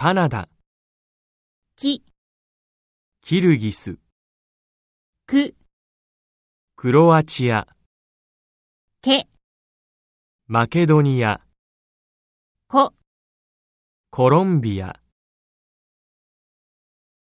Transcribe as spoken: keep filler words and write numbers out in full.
カナダ、 き、 キルギス、 く、 クロアチア、 け、 マケドニア、 こ。 コロンビア。